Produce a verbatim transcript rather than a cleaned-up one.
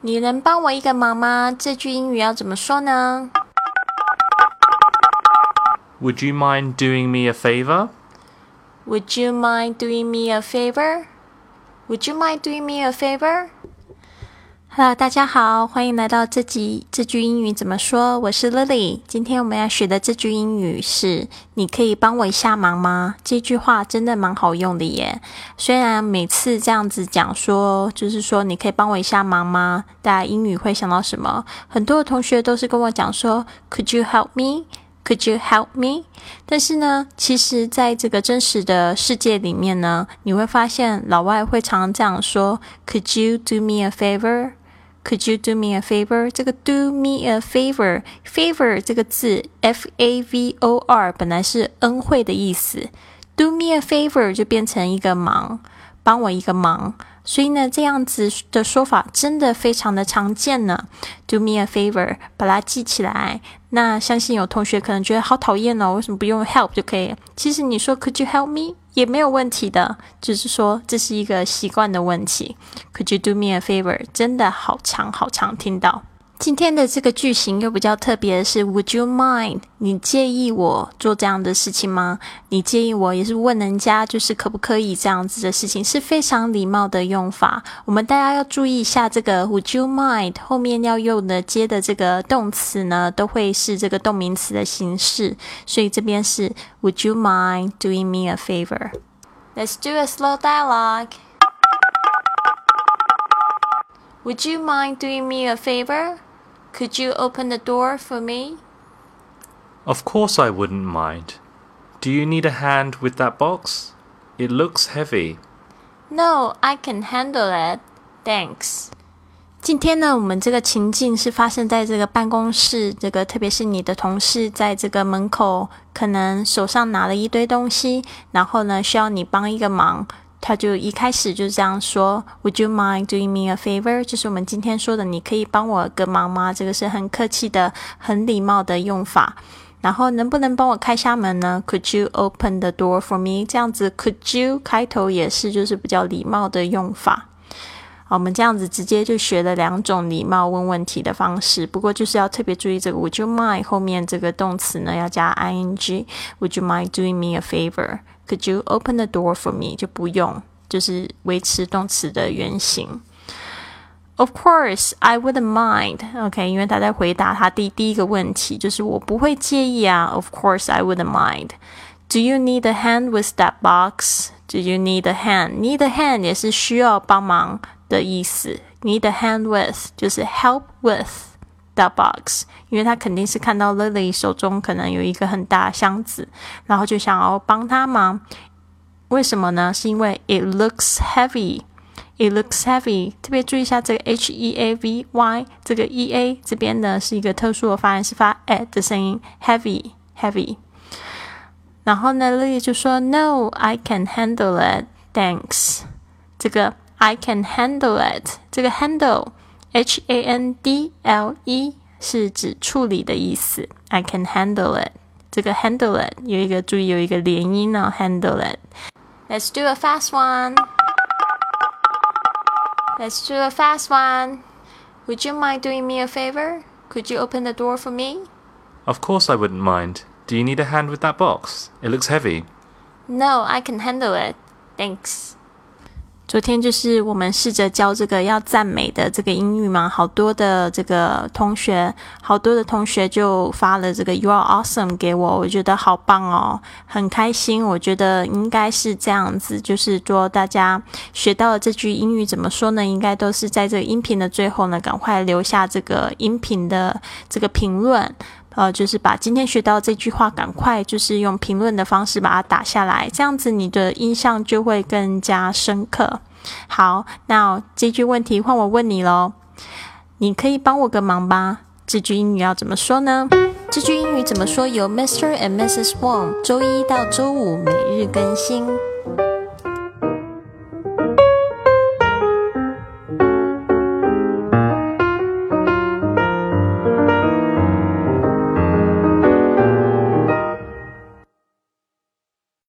你能帮我一个忙吗？这句英语要怎么说呢？ Would you mind doing me a favor? Would you mind doing me a favor? Would you mind doing me a favor? Hello， 大家好，欢迎来到这集这句英语怎么说？我是 Lily。今天我们要学的这句英语是你可以帮我一下忙吗？这句话真的蛮好用的耶。虽然每次这样子讲说，就是说你可以帮我一下忙吗？大家英语会想到什么？很多的同学都是跟我讲说 Could you help me?Could you help me? 但是呢，其实在这个真实的世界里面呢，你会发现老外会常常这样说 Could you do me a favor? Could you do me a favor? 这个 do me a favor, favor 这个字 F A V O R 本来是恩惠的意思， do me a favor 就变成一个忙，帮我一个忙。所以呢，这样子的说法真的非常的常见呢。Do me a favor， 把它记起来。那相信有同学可能觉得好讨厌哦，为什么不用 help 就可以？其实你说 Could you help me 也没有问题的，就是说这是一个习惯的问题。Could you do me a favor 真的好常好常听到。今天的这个句型又比较特别的是 Would you mind？ 你介意我做这样的事情吗？你介意我也是问人家就是可不可以这样子的事情，是非常礼貌的用法。我们大家要注意一下这个 Would you mind 后面要用的接的这个动词呢，都会是这个动名词的形式，所以这边是 Would you mind doing me a favor? Let's do a slow dialogue. Would you mind doing me a favor?Could you open the door for me? Of course I wouldn't mind. Do you need a hand with that box? It looks heavy. No, I can handle it. Thanks. 今天呢，我们这个情境是发生在这个办公室，这个特别是你的同事在这个门口，可能手上拿了一堆东西，然后呢，需要你帮一个忙。他就一开始就这样说 Would you mind doing me a favor? 就是我们今天说的你可以帮我个忙吗？这个是很客气的很礼貌的用法。然后能不能帮我开下门呢？ Could you open the door for me? 这样子 Could you 开头也是就是比较礼貌的用法。好，我们这样子直接就学了两种礼貌问问题的方式，不过就是要特别注意这个 Would you mind 后面这个动词呢要加 ing Would you mind doing me a favor?Could you open the door for me? 就不用，就是维持动词的原形。Of course, I wouldn't mind. OK， 因为他在回答他第第一个问题，就是我不会介意啊。Of course, I wouldn't mind. Do you need a hand with that box? Do you need a hand? Need a hand 也是需要帮忙的意思。Need a hand with 就是 help with.that box， 因为他肯定是看到 Lily 手中可能有一个很大的箱子，然后就想要帮他忙。为什么呢？是因为 it looks heavy it looks heavy 特别注意一下这个 H E A V Y 这个 E A 这边呢是一个特殊的发音，是发 at 的声音 heavy heavy。 然后呢 Lily 就说 No, I can handle it, thanks。 这个 I can handle it 这个 handle H A N D L E 是指处理的意思。 I can handle it 这个 handle it 有一个注意有一个连音呢 handle it。 Let's do a fast one. Let's do a fast one. Would you mind doing me a favor? Could you open the door for me? Of course I wouldn't mind. Do you need a hand with that box? It looks heavy. No, I can handle it. Thanks.昨天就是我们试着教这个要赞美的这个英语嘛，好多的这个同学，好多的同学就发了这个 You are awesome 给我，我觉得好棒哦，很开心。我觉得应该是这样子，就是说大家学到了这句英语怎么说呢？应该都是在这个音频的最后呢，赶快留下这个音频的这个评论。呃，就是把今天学到这句话赶快就是用评论的方式把它打下来，这样子你的印象就会更加深刻。好，那这句问题换我问你咯，你可以帮我个忙吗？这句英语要怎么说呢？这句英语怎么说由 Mister and Missus Wong 周一到周五每日更新。